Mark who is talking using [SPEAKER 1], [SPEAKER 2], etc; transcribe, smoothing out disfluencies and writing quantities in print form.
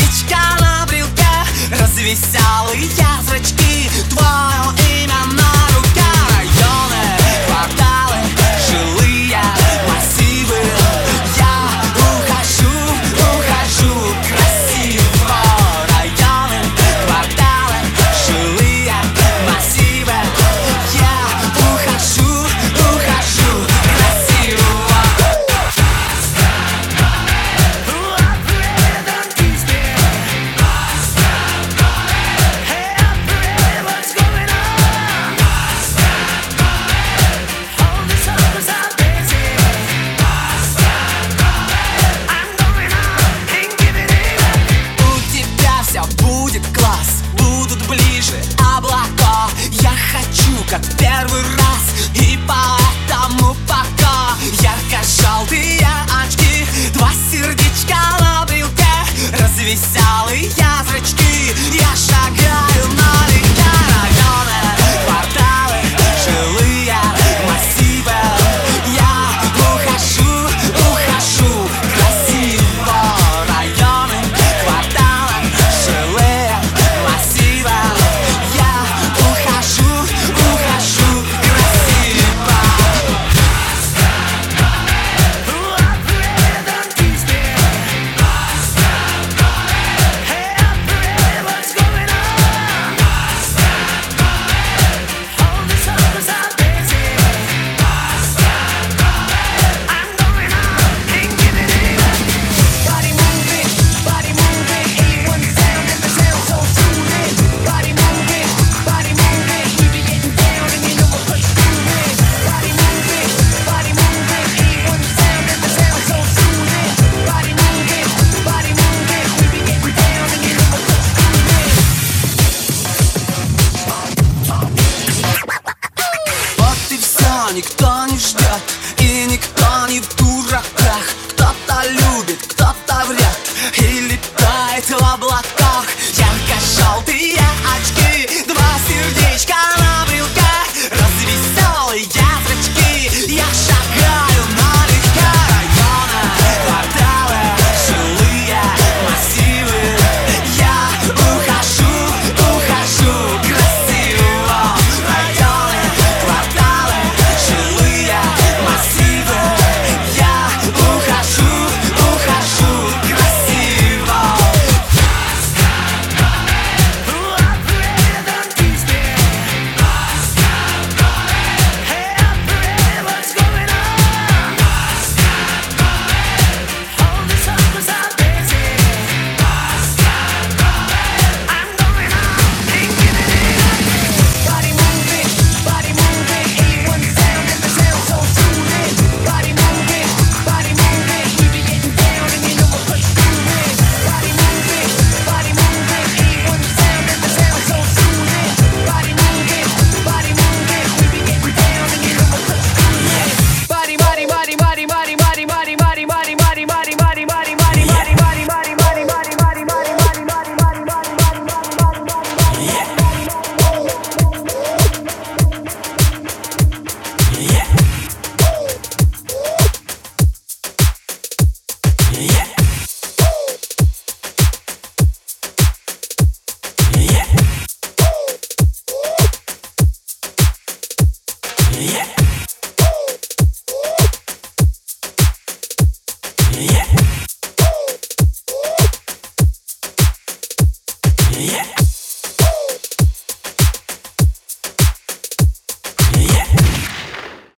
[SPEAKER 1] сердечко на брелке, развеселые зрачки, твое имя на руке. Районы, кварталы, жилые массивы. Я ухожу красиво. Районы, кварталы, жилые массивы. Я ухожу красиво. Будет класс, будут ближе облака. Я хочу, как в первый раз, и поэтому пока ярко-желтые очки, два сердечка на брелке, развеселые зрачки. Я шагаю налегке. Районы, кварталы, жилые массивы. Я ухожу красиво. Районы, кварталы, жилые массивы. Я ухожу красиво. Никто не ждет, и никто не в дураках. Кто-то любит, кто-то врет, и летает в облаках. Ярко-желтые очки, два сердечка на брелке, развеселые зрачки. Я шагаю налегке. Районы, кварталы, жилые массивы. Я ухожу красиво. Районы, кварталы, жилые массивы. Я ухожу красиво. Yeah.